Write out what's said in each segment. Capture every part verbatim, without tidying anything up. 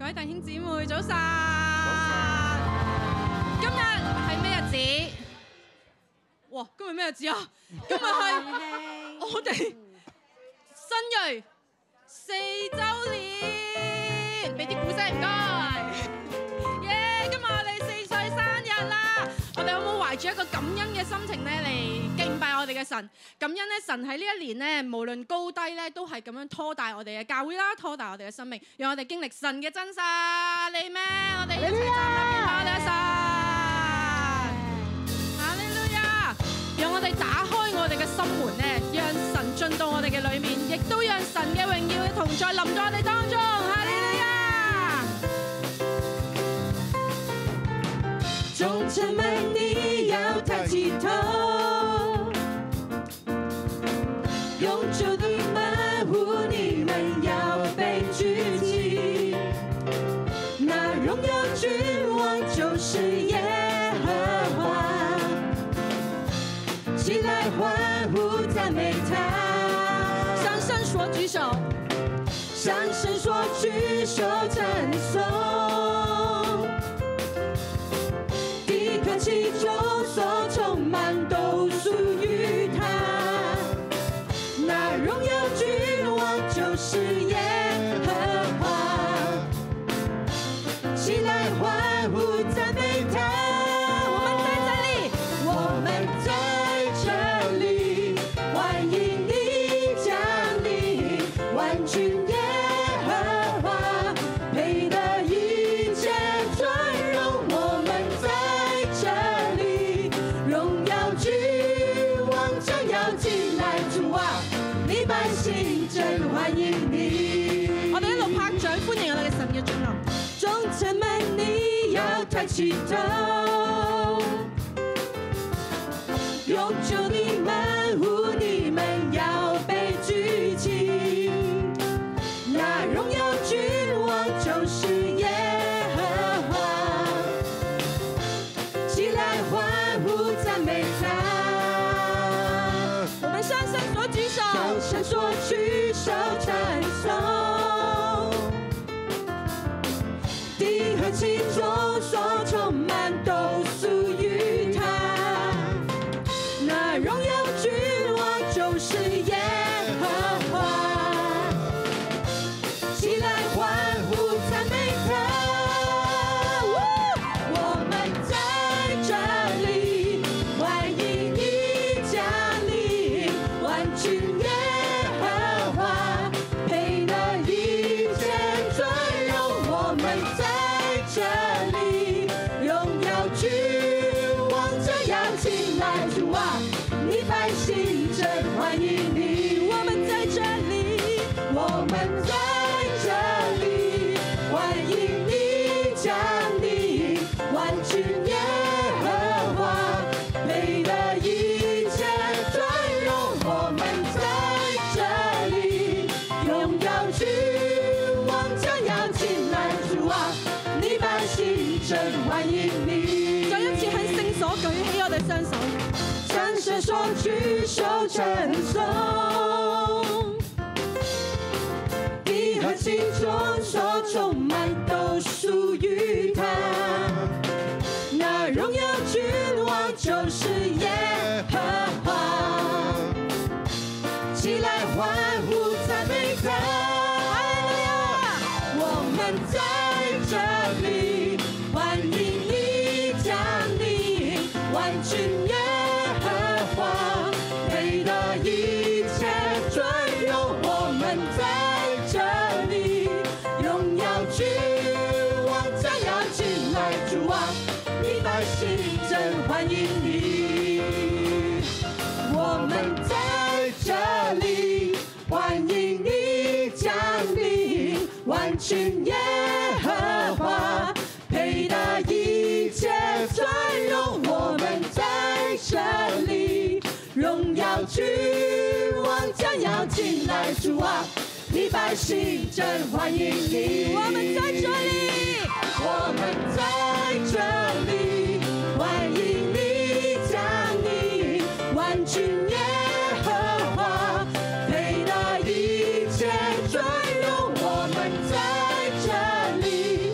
位弟兄姊妹，早晨！今日係咩日子？哇！今日咩日子啊？今日係我哋新銳四週年，俾啲鼓聲唔該。耶！今日我哋四歲生日啦！我哋有冇懷住一個感恩嘅心情咧嚟敬拜我哋嘅神？感恩咧，神喺呢一年咧，無論高低咧，都係咁樣拖帶我哋嘅教會啦，拖帶我哋嘅生命，讓我哋經歷神嘅真實。你咩？我哋一齊站立敬拜我哋嘅神。哈利路亞！讓我哋打開我哋嘅心門咧，讓神進到我哋嘅裏面，亦都讓神嘅榮耀嘅同在臨在我哋當中。哈利路亞！ 眾城們，你要抬起頭，永久的門戶，你們要被舉起。那榮耀君王就是耶和華，起來歡呼讚美他。 向神說舉手， 向神說舉手稱頌。地和其中所充滿都屬於他，那榮耀君王就是耶和華，起來歡呼讚美他。我們在這裡，我們在這裡，歡迎你降臨，萬軍耶和華配得一切尊榮。我們在這裡，榮耀君王將要進來，主啊，你百姓真歡迎你。 我哋一路拍掌歡迎我哋嘅神嘅進臨。 眾城們，你要抬起頭，永久的門戶，你們要被舉起。那榮耀君王就是耶和華，起來歡呼讚美他。 我們向神所舉手， 向神所舉手稱頌。地和其中所充滿都屬於他，那榮耀君王就是耶和華，起來歡呼讚美他。我們在這裡，歡迎你降臨，萬軍耶和華配得一切尊榮。我們在這裡，榮耀君王將要進來，主啊，你百姓真歡迎你。我們在這裡，我們在這裡，歡迎你降臨，萬軍耶和華配得一切尊榮。我們在這裡，榮耀君王將要進來，主啊，你百姓真歡迎你。 再一次喺聖所舉起我哋雙手， 向神說舉手稱頌，地和其中所充滿都屬於他，那榮耀君王就是耶和華，起來歡呼讚美他。我們在這裡，歡迎你降臨，萬軍耶和華配得一切尊榮。我們在這裡，榮耀君王將要進來，主啊，你百姓真歡迎你。我們在這裡，歡迎你降臨，萬軍耶和華配得一切尊榮。我們在這裡，榮耀君王將要進來，主啊，你百姓真歡迎你。 我們在這裡， 我們在這裡，歡迎你降臨，萬軍耶和華配得一切尊榮。我們在這裡。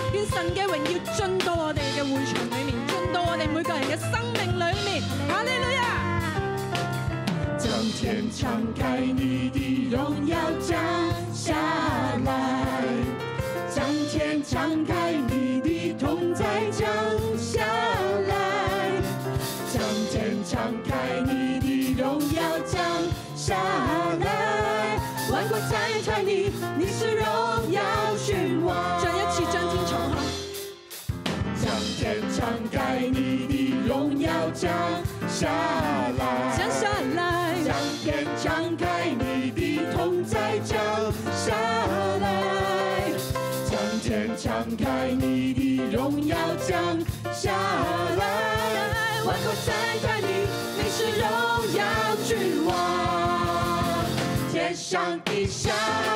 願神嘅榮耀進到我哋嘅會場裏面，進到我哋每個人嘅生命裏面。哈利路亞！ 將天敞開，你的榮耀降下來，將天敞開，你的同在降下來，將天敞開，你的榮耀降下來，萬國讚嘆你，你是榮耀君王。 再一次將天敞開， 將天敞開，你的榮耀降下來， 降下來， 將天敞開，你的同在降下來，將天敞開，你的榮耀降下來，萬國讚嘆你，你是榮耀君王，天上地下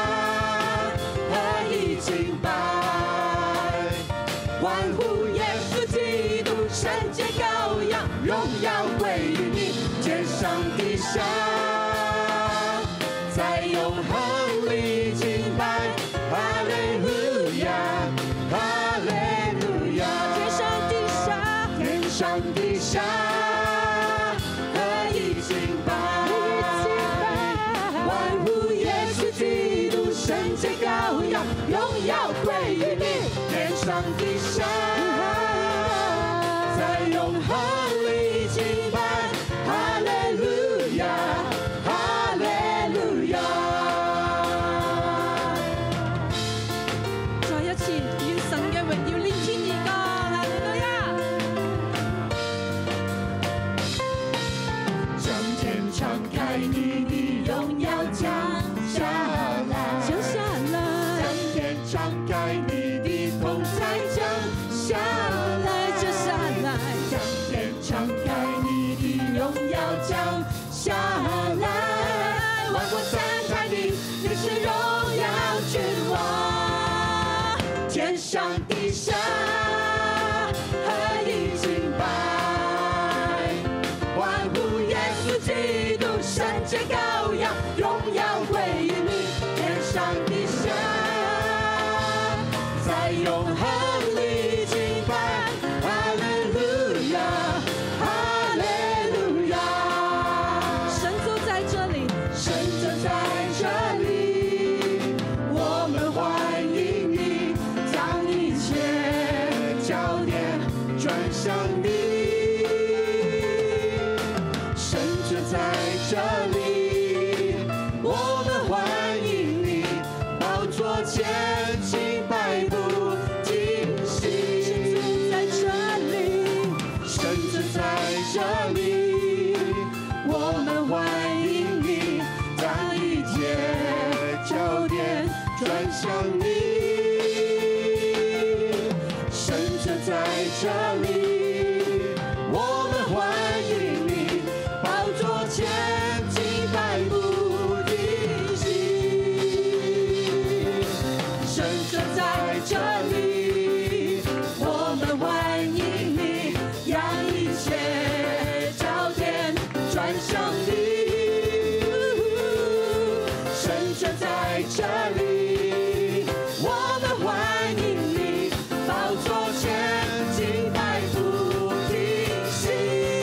何以敬拜，歡呼耶穌基督，聖潔羔羊，榮耀歸於你，天上地下在永恆裡敬拜，哈利路亞，哈利路亞， 天上地下， 天上地下何以敬拜，歡呼耶穌基督，聖潔羔羊，榮耀歸於你，天上地下在永恆裡敬拜，哈利路亞，哈利路亞。 再一次願神嘅榮耀連天而降，哈利路亞！ 將天敞開，你的榮耀降下來， 降下來， 將天敞開，你的同在降下來， 降下來， 將天敞開，你的榮耀降下來，萬國讚嘆你，你是榮耀君王，天上地下何以敬拜，歡呼耶穌基督，聖潔羔羊，榮耀歸於你，天上地下在永恆裡敬拜，哈利路亞，哈利路亞， 神就在這裡， 神就在這裡，我們歡迎你，將一切焦點轉向你，神就在這裡，我們歡迎你，寶座前敬拜不停息， 在這裡， 神就在這裡，我們歡迎你，將一切焦點轉向你，神就在這裡，我們歡迎你，寶座前敬拜不停息，神就在這裡，我們歡迎你，讓一切焦點轉向你，神就在這裡，我們歡迎你，寶座前敬拜不停息，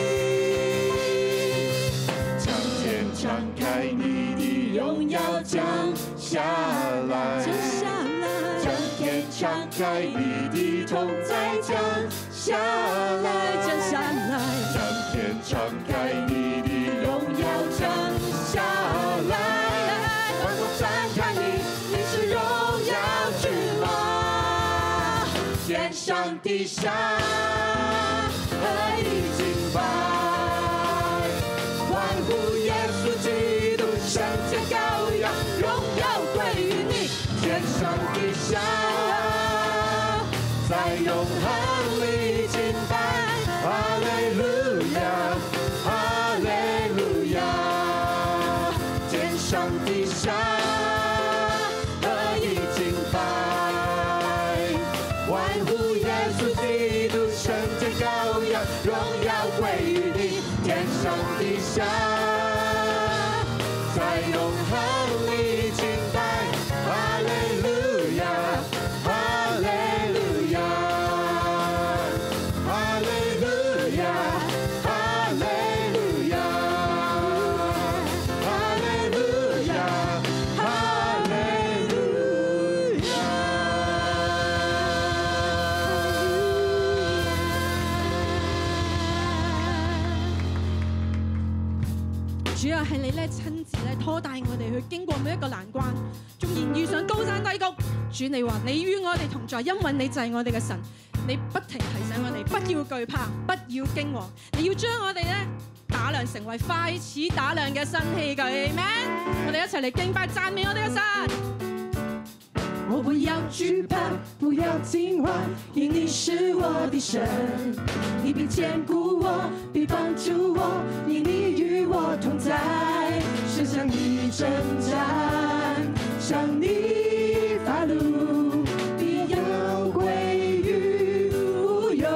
將天敞開，你的榮耀降下來， 降下來， 將天敞開，你的同在降下來， 降下來， 將天敞開，你的榮耀降下來，萬國讚嘆你，你是榮耀君王，天上地下何以敬拜，歡呼耶穌基督，聖潔羔羊，榮耀歸於你，天上地下在永恆裡敬拜，哈利路亞，哈利路亞，天上地下何以敬拜，歡呼耶穌基督，聖潔羔羊，榮耀歸於你，天上地下在永恆裡敬拜，哈利路亞，哈利路亞。 主啊，係你咧親自咧拖帶我哋去經過每一個難關，縱然遇上高山低谷，主你話你與我哋同在，因為你就係我哋嘅神，你不停提醒我哋不要懼怕，不要驚惶，你要將我哋咧打量成為快似打量嘅新器具 ，Amen！ 我哋一齊嚟敬拜讚美我哋嘅神。 我不要懼怕，不要驚惶，因你是我的神，你必堅固我，必幫助我，因你與我同在，是向你征戰，向你發怒，必要歸於無有。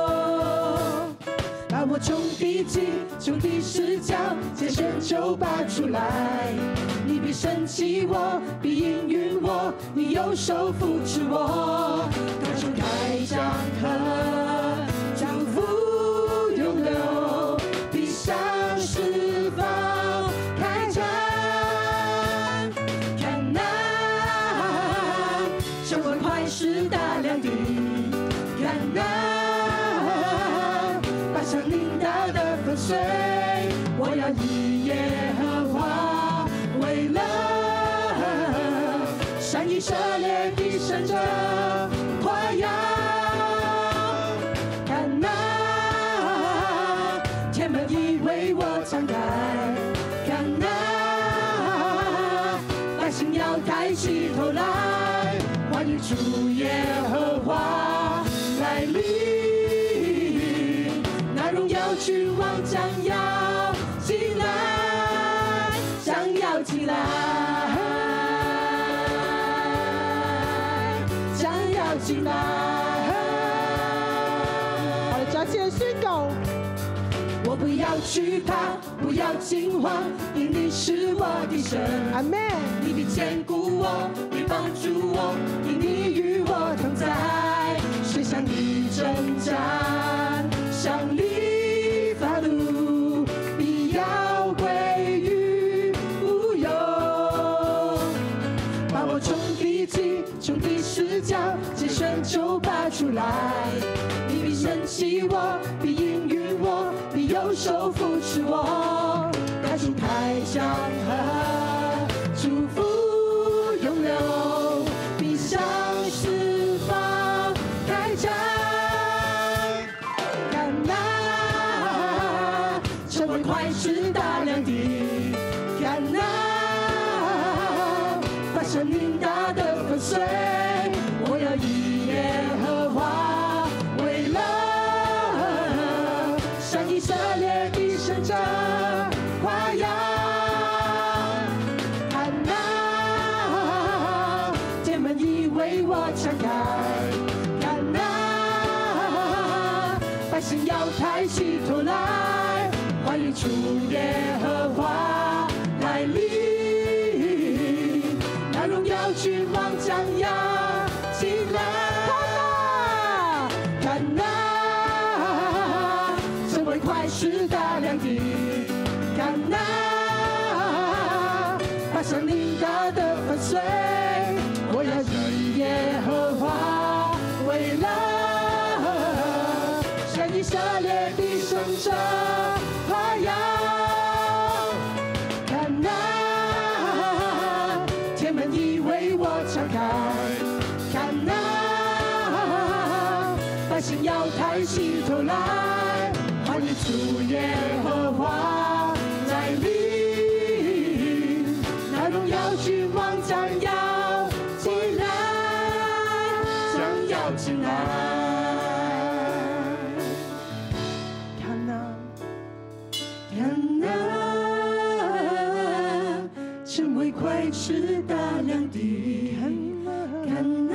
把我從地極，從地勢角，揀選就拔出來。你必升起我，必應允我，你右手扶持我，高處開江河，祝福湧流，必向四方開展。看哪，成為快時大亮的，看哪，百上領導的粉碎，我要以耶和華為樂，善以色列的聖者誇耀。看哪，天門已為我敞開，看哪，百姓要抬起頭來，歡迎主耶和華來臨，那榮耀君王將要進來，將要進來，將要進來。我哋再次宣告：我不要懼怕，不要驚惶，因你是我的神。阿們。你必堅固我，必幫助我，因你與我同在，誰向你征戰，向你發怒，必要歸於無有。把我從地極，從地勢角，揀選就拔出來。你必升起我，必應允我，你右手扶持我，高處開江河，祝福湧流，必向四方開展。看哪，成為快時大亮的，看哪，把生命大的粉碎，我要以耶和華為樂，向以色列的聖者誇耀。看哪，天門已為我敞開，看哪，百姓要抬起頭來，歡迎主耶和華來臨，那榮耀君王將要進來。看哪，成為快時大亮的，看哪，把生命大的粉碎，我要以耶和華為樂，向以色列的聖者誇耀。看哪，天門已為我敞開，看哪，百姓要抬起頭來，歡迎主耶和華來臨，那榮耀君王將要進來，將要進來。看哪，看哪，成為快時大亮的，看哪，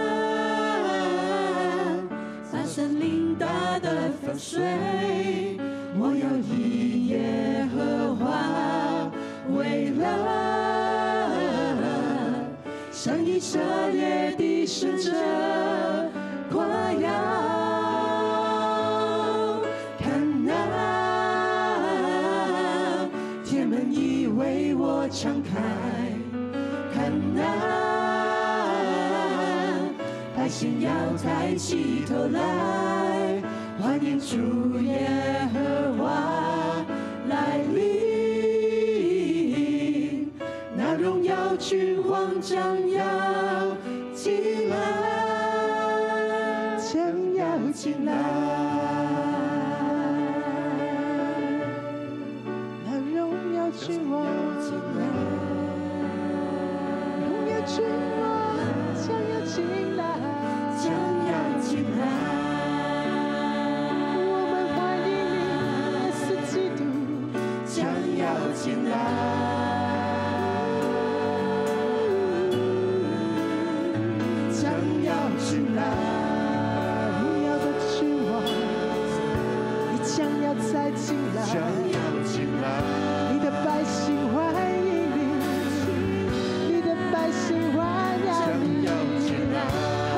把森林大的粉碎，我要以耶和華為樂，向以色列的聖者誇耀。看哪，天門已為我敞開，看哪，百姓要抬起頭來，歡迎主耶和華來臨， 君王将要进来，将要进来。那荣耀君王进来，荣耀君王将要进来，将要进来。我们欢迎你，耶稣基督将要进来。 进来，荣耀的君王，你将要再进来，将要进来，你的百姓欢迎你，你的百姓欢迎你，将要进来。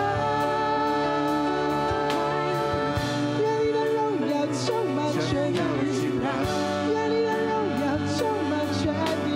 愿你的荣耀充满全地，愿你的荣耀充满全地。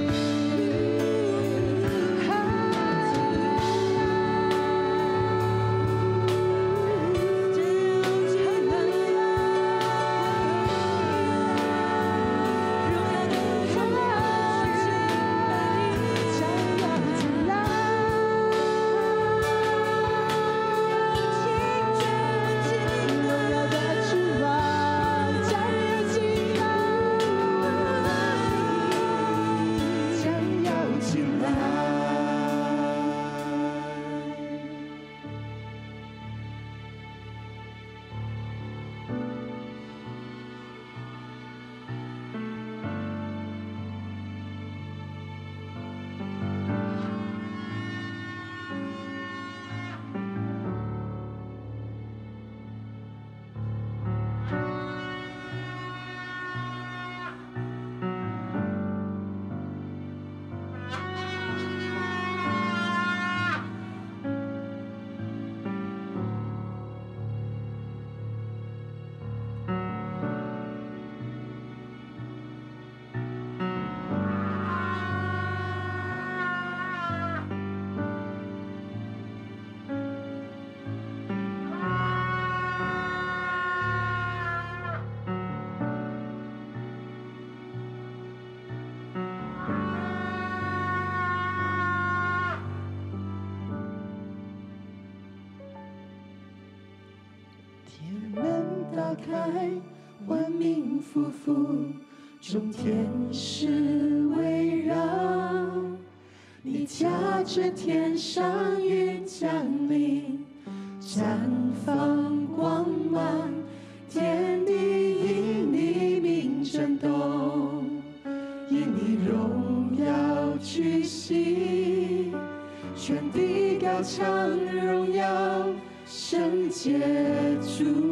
打开，万民夫妇，众天使围绕，你驾着天上云降临，绽放光芒，天地因你名震动，因你荣耀屈膝，全地高唱荣耀圣洁主。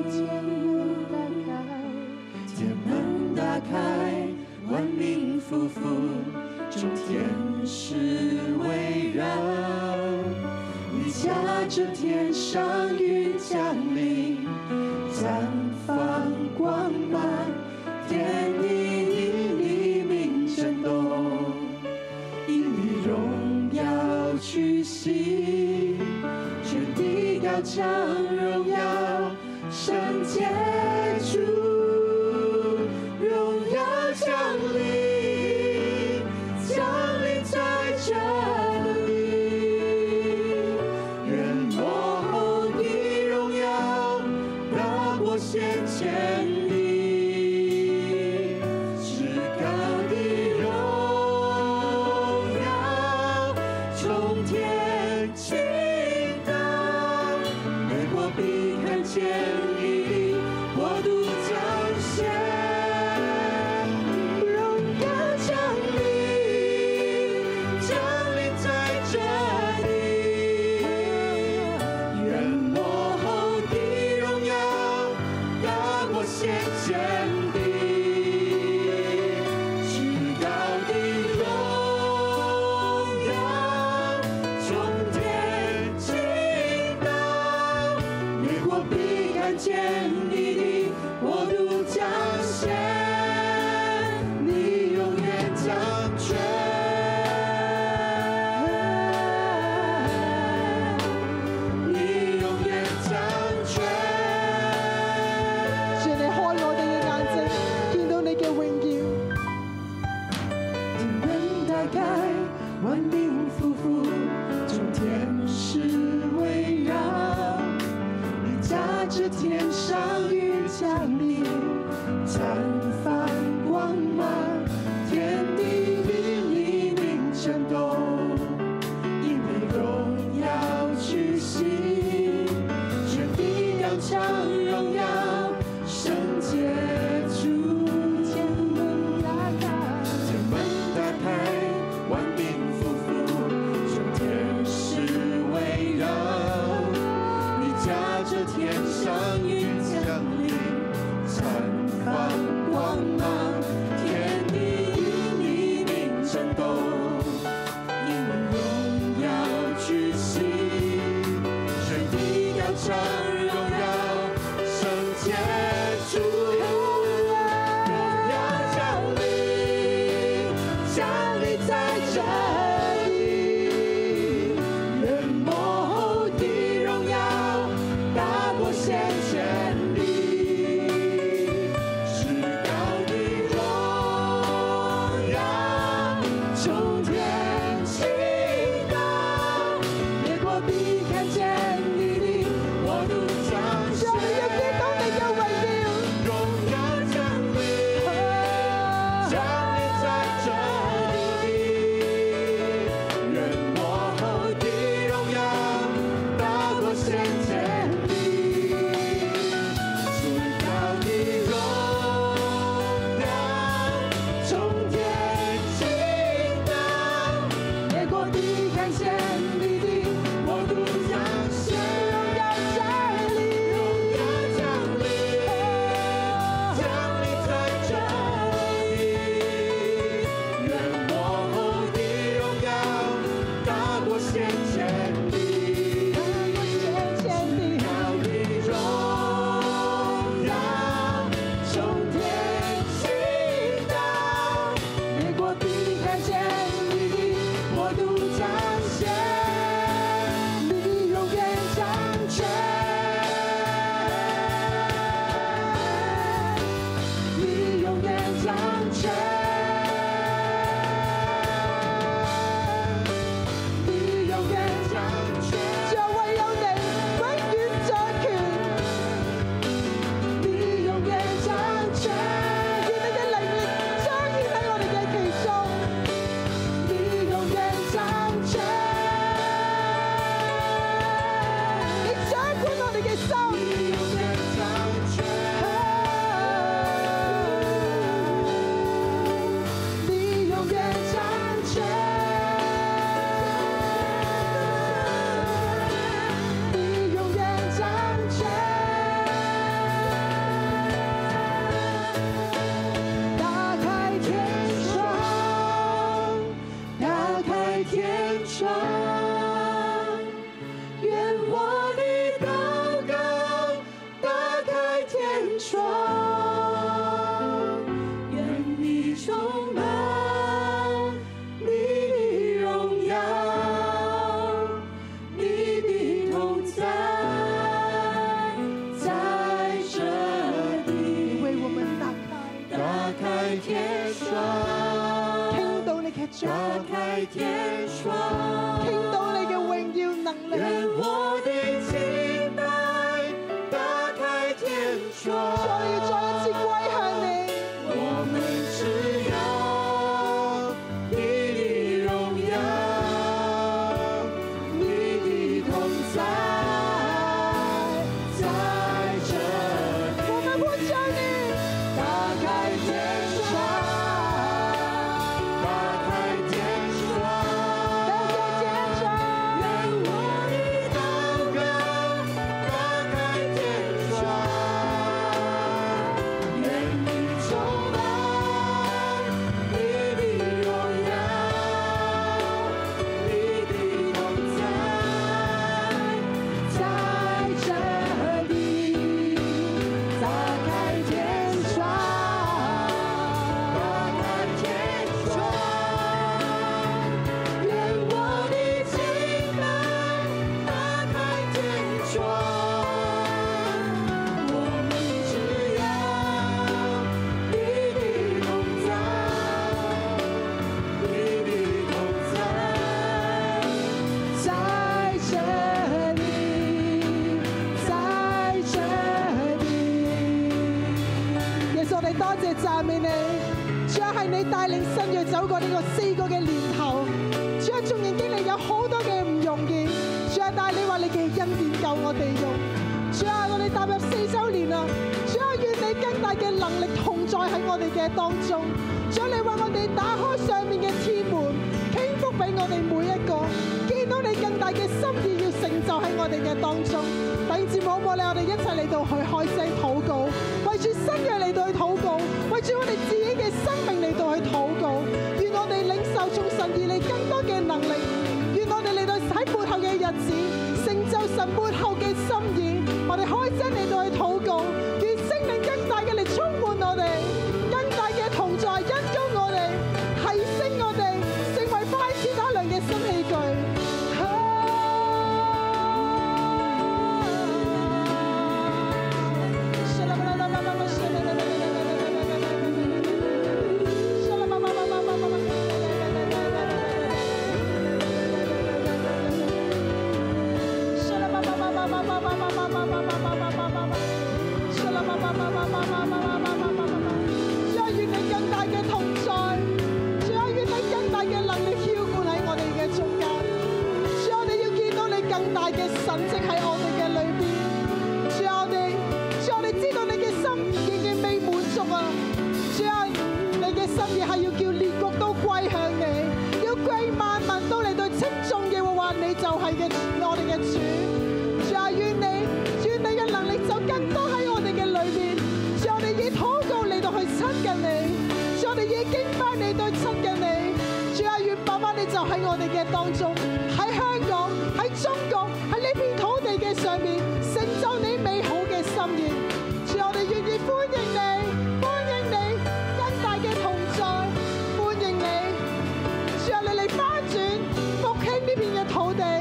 天门打开，万民夫妇，众天使围绕。你驾着天上云降临，绽放光芒，天地因你名震动，因你荣耀屈膝，全地高唱荣耀圣洁主。 降临，降临在这里，愿幕后的荣耀大过先前的，至高的荣耀从天倾倒，每国必看见你的国度彰显。 先前的至高的荣耀，从天倾倒，每国必看见你的国度彰显，你永远掌权，你永远掌权。 万着天上雨降临，绽放光芒，天地与你名震动，因为荣耀屈膝，全地要唱荣耀，圣洁主。天门打开，天门打开，万民匍匐，众天使围绕，你驾着天上云降临，绽放光芒，天地与你名震动，因为荣耀屈膝，全地要唱荣耀，圣洁主。荣耀降临，降临在这里，人幕后的荣耀大过先前的，至高的荣耀从天倾倒，列国必看见你的国度彰显。荣耀降临，降临在这里，人幕后的荣耀大过先前的，最高的荣耀从天倾倒，列国必看见你的国度彰显。荣耀降临，荣耀降临，降临在这里，人幕后的荣耀大过先前的，最高的荣耀从天倾倒，列国必看见你的国度彰显，你永远掌权，你永远掌权，你永远掌权，就唯有你永遠掌權，你永遠掌權，願你嘅靈力彰顯喺我哋嘅其中，你永遠掌權，你掌管我哋嘅心，你永遠掌權，你永遠掌權，你永遠掌權，打開天窗，打開天窗，願我的禱告打開天窗，願你充滿你的榮耀，你的同在在這裡，為我們打開，打開天窗，聽到你嘅掌，打開天窗，聽到你嘅榮耀能力，願我的敬拜打開天窗，所以再一次歸向你，我們只要你的榮耀，你的同在在這裡，我們呼求你，打開天窗，打開天窗，打開天窗，願我的禱告打開天窗， 讚美你。主啊，係你帶領新銳走過呢個四個嘅年頭。主啊，縱然經歷有好多嘅唔容易，主啊，但係你話你嘅恩典夠我哋用。主啊，我哋踏入四週年啦，主啊，願你更大嘅能力同在喺我哋嘅當中。主啊，你為我哋打開上面嘅天門，傾福俾我哋每一個，見到你更大嘅心意要成就喺我哋嘅當中。弟兄姊妹，好唔好咧？我哋一齊嚟到去開聲禱告，為住新銳嚟到去禱告，為住我哋自己嘅生命嚟到去禱告。願我哋領受從神而嚟更多嘅能力，願我哋嚟到喺末後嘅日子成就神末後嘅心意。我哋開聲嚟到去禱告，願聖靈更大嘅嚟充滿我哋，更大嘅同在恩膏我哋，提升我哋，成為快似打量嘅新器具。當中喺香港、喺中國、喺呢片土地嘅上面，成就你美好嘅心意。主，我哋願意歡迎你，歡迎你更大嘅同在，歡迎你。主啊，你嚟翻轉復興呢片嘅土地。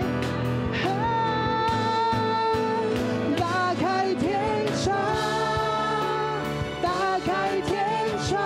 打開天窗，打開天窗。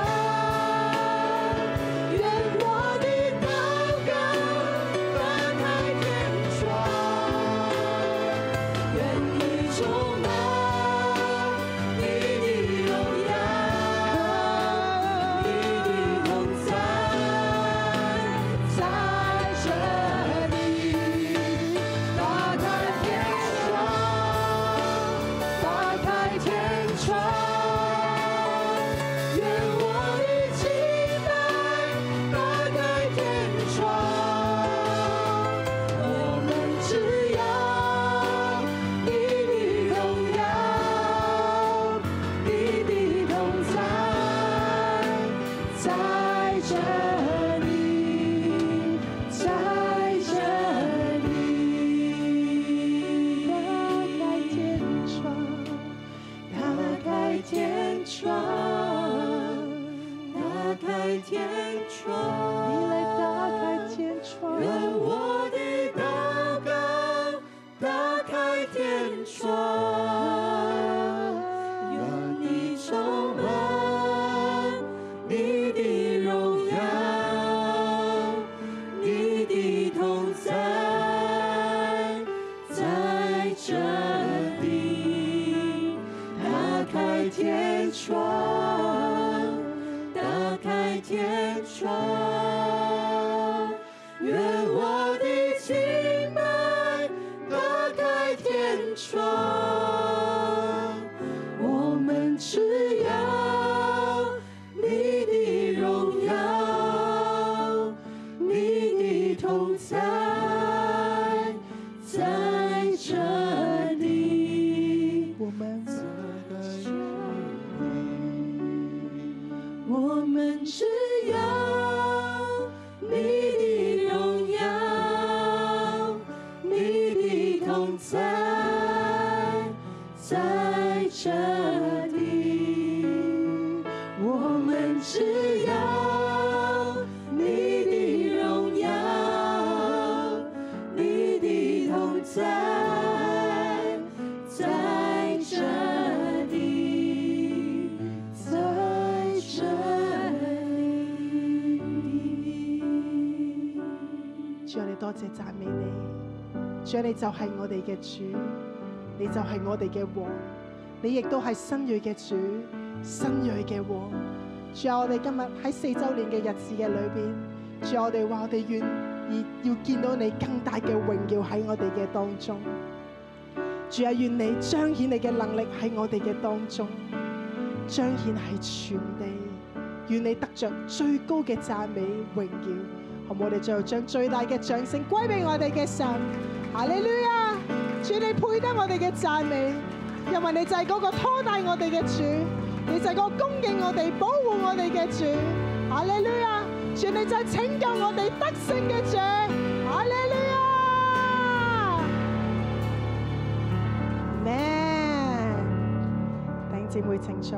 多謝讚美你，主，你就係我哋嘅主，你就係我哋嘅王，你亦都係新銳嘅主，新銳嘅王。 主啊，我哋今日喺四周年嘅日子嘅裏邊，主啊，我哋話我哋願意要見到你更大嘅榮耀喺我哋嘅當中。主啊，願你彰顯你嘅能力喺我哋嘅當中，彰顯喺全地。願你得着最高嘅讚美榮耀，好唔好？我哋最後將最大嘅掌聲歸俾我哋嘅神。哈利路亞！主，你配得我哋嘅讚美，因為你就係嗰個拖帶我哋嘅主，你就係嗰個供應我哋、保護我哋嘅主。哈利路亞！主，你就係拯救我哋得勝嘅主。哈利路亞！咩？弟兄姊妹請坐。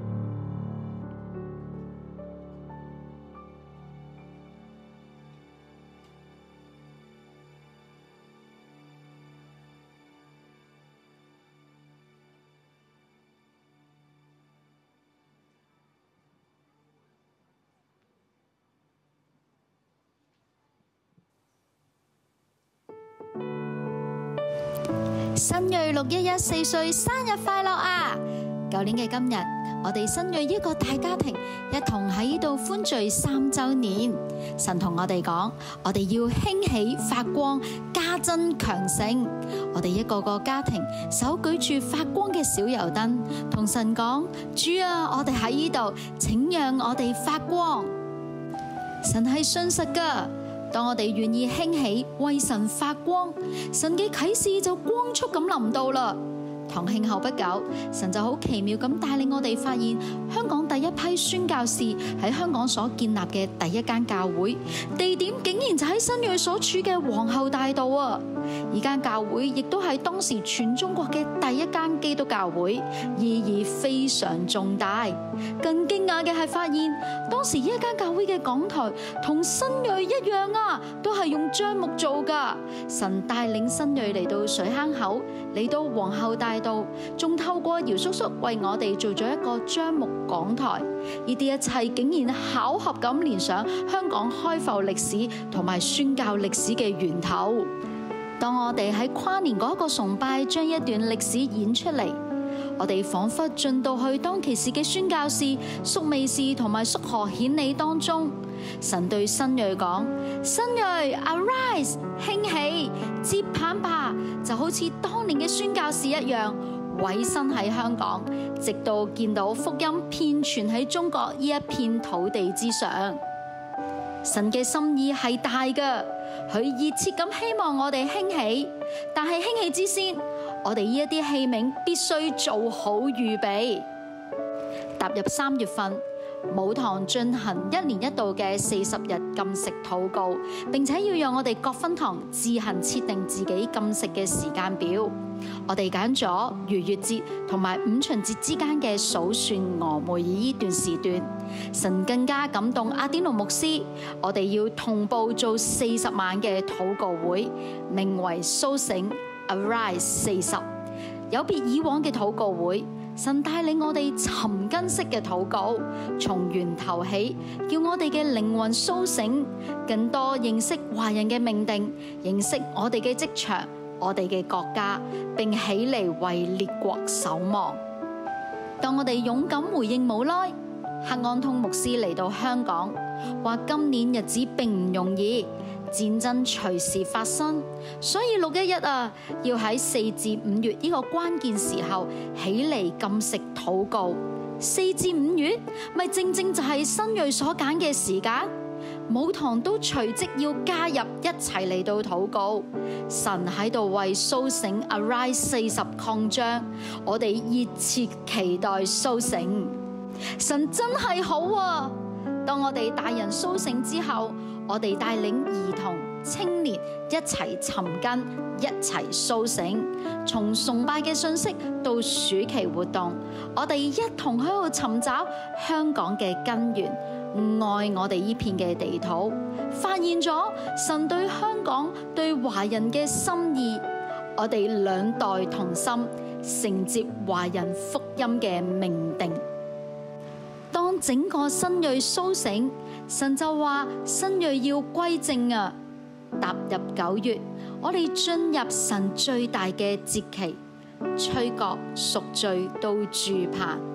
新銳六一一四歲生日快樂啊！舊年嘅今日，我哋新銳一個大家庭一同喺呢度歡聚三週年。神同我哋講，我哋要興起發光，加增強盛。我哋一個個家庭手舉住發光嘅小油燈，同神講：主啊，我哋喺呢度，請讓我哋發光。神係信實㗎。當我哋願意興起為神發光，神嘅啟示就光速咁臨到啦。堂慶後不久，神就好奇妙咁帶領我哋發現香港第一批宣教士喺香港所建立嘅第一間教會，地點竟然就喺新銳所處嘅皇后大道啊！呢間教會亦都係當時全中國嘅第一間基督教會，意義非常重大。更驚訝嘅係發現，當時呢一間教會嘅講台同新銳一樣啊，都係用樟木做噶。神帶領新銳嚟到水坑口，嚟到皇后大道，仲透過姚叔叔為我哋做咗一個樟木講台。呢啲一切竟然巧合咁連上香港開埠歷史同埋宣教歷史嘅源頭。當我哋喺跨年嗰個崇拜將一段歷史演出嚟，我哋彷彿進到去當其時嘅宣教士蘇美士同埋蘇何顯理當中。神對新銳講：新銳 ，arise， 興起，接棒吧，就好似當年嘅宣教士一樣，委身喺香港，直到見到福音遍傳喺中國呢一片土地之上。神嘅心意係大嘅，佢熱切咁希望我哋興起，但係興起之先，我哋呢一啲器皿必須做好預備。踏入三月份，母堂進行一年一度嘅四十日禁食禱告，並且要讓我哋各分堂自行設定自己禁食嘅時間表。我哋揀咗逾越節同埋五旬節之間嘅數算俄梅爾呢段時段。神更加感動阿典奴牧師，我哋要同步做四十晚嘅禱告會，名為蘇醒 Arise 四十，有別以往嘅禱告會。神帶領我哋尋根式嘅禱告，從源頭起，叫我哋嘅靈魂蘇醒，更多認識華人嘅命定，認識我哋嘅職場、我哋嘅國家，並起嚟為列國守望。當我哋勇敢回應無奈，黑安通牧師嚟到香港，話今年日子並唔容易，戰爭隨時發生，所以六一一啊，要喺四至五月呢個關鍵時候起嚟禁食禱告。四至五月咪正正就係新銳所揀嘅時間，母堂都隨即要加入一齊嚟到禱告。神喺度為蘇醒 Arise 四十擴張，我哋熱切期待蘇醒。神真係好啊！當我哋大人蘇醒之後，我哋帶領兒童、青年一齊尋根，一齊蘇醒。從崇拜嘅信息到暑期活動，我哋一同喺度尋找香港嘅根源，愛我哋呢片嘅地土，發現咗神對香港、對華人嘅心意。我哋兩代同心，承接華人福音嘅命定。當整個新銳蘇醒，神就話新銳要歸正啊！踏入九月，我哋進入神最大嘅節期，吹角贖罪到住棚。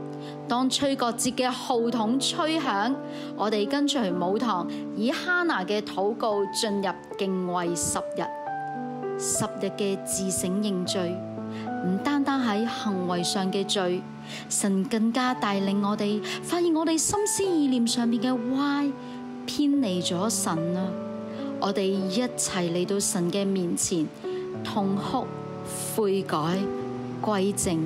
當吹角節嘅號筒吹響，我哋跟隨母堂以哈拿嘅禱告進入敬畏十日，十日嘅自省認罪，唔單單喺行為上嘅罪，神更加帶領我哋發現我哋心思意念上面嘅歪，偏離咗神啊！我哋一齊嚟到神嘅面前，痛哭悔改歸正。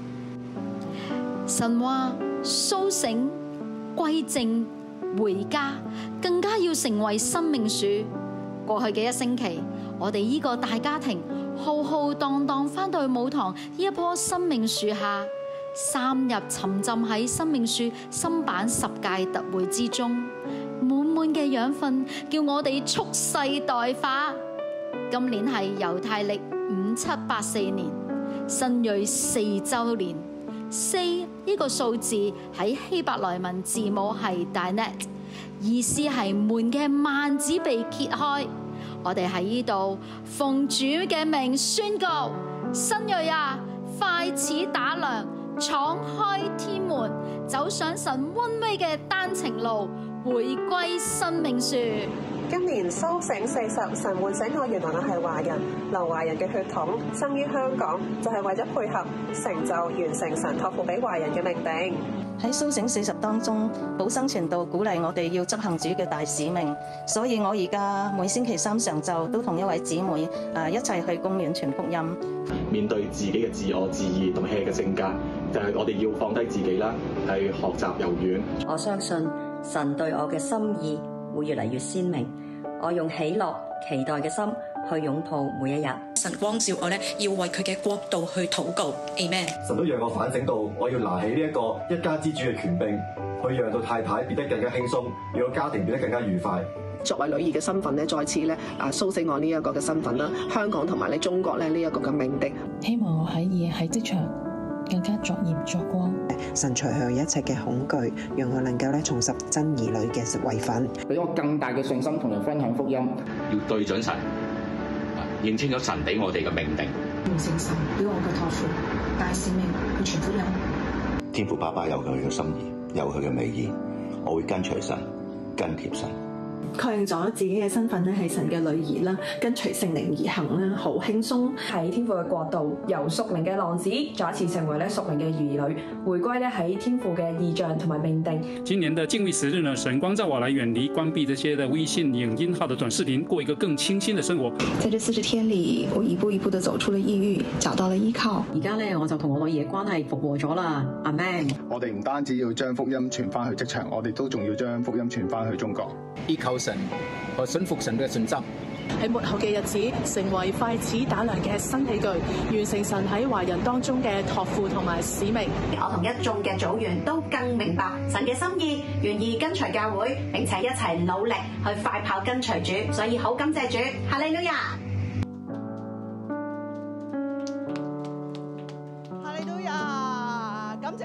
神話甦醒歸正回家，更加要成為生命樹。過去嘅一星期，我哋呢個大家庭浩浩蕩蕩返到去母堂呢一棵生命樹下，三日沉浸喺生命樹新版十屆特會之中，滿滿嘅養分叫我哋蓄勢待發。今年係猶太曆五七八四年，新銳四週年。四呢個數字喺希伯來文字母係 Dalet， 意思係門嘅幔子被揭開。我哋喺呢度奉主嘅名宣告：新銳啊，快似打量，敞開天門，走上神溫威嘅單程路，回歸生命樹。 今年甦醒四十，神喚醒我，原來我係華人，流華人嘅血統，生於香港，就係、是、為咗配合成就完成神託付俾華人嘅命定。 喺甦醒四十當中，寶生傳道鼓勵我哋要執行主嘅大使命，所以我而家每星期三上晝都同一位姊妹誒一齊去公園傳福音。 面對自己嘅自我、自義同埋 hea 嘅性格，就係、是、我哋要放低自己啦，係學習柔軟。 我相信神對我嘅心意會越嚟越鮮明，我用喜樂期待嘅心去擁抱每一日。 神光照我咧，要為佢嘅國度去禱告。Amen。 神都讓我反省到，我要拿起呢一個一家之主嘅權柄，去讓到太太變得更加輕鬆，讓個家庭變得更加愉快。 作為女兒嘅身份咧，再次咧啊甦醒我呢一個嘅身份啦，香港同埋咧中國咧呢一個嘅命定。 希望我喺而喺職場更加作鹽作光。 神除去一切嘅恐懼，讓我能夠咧重拾真兒女嘅位份， 俾我更大嘅信心同人分享福音。 要對準神，認清咗神俾我哋嘅命定， 完成神俾我嘅託付，大使命去傳福音。 天父爸爸有佢嘅心意，有佢嘅美意，我會跟隨神，跟貼神。 確認咗自己嘅身份咧係神嘅女兒啦，跟隨聖靈而行啦，好輕鬆。 喺天父嘅國度，由屬靈嘅浪子再一次成為咧屬靈嘅兒女，回歸咧喺天父嘅意象同埋命定。 今年的敬畏時日呢，神光照我來遠離關閉這些的微信、影音號的短視頻，過一個更清新的生活。 在這四十天裏，我一步一步地走出了抑鬱，找到了依靠。 而家咧，我就同我女兒嘅關係復和咗啦。阿們。 我哋唔單止要將福音傳翻去職場，我哋都仲要將福音傳翻去中國。 依靠神和信服神嘅信心， 喺末後嘅日子，成為快似打量嘅新器具，完成神喺華人當中嘅託付同埋使命。 我同一眾嘅組員都更明白神嘅心意，願意跟隨教會，並且一齊努力去快跑跟隨主，所以好感謝主，哈利路亞。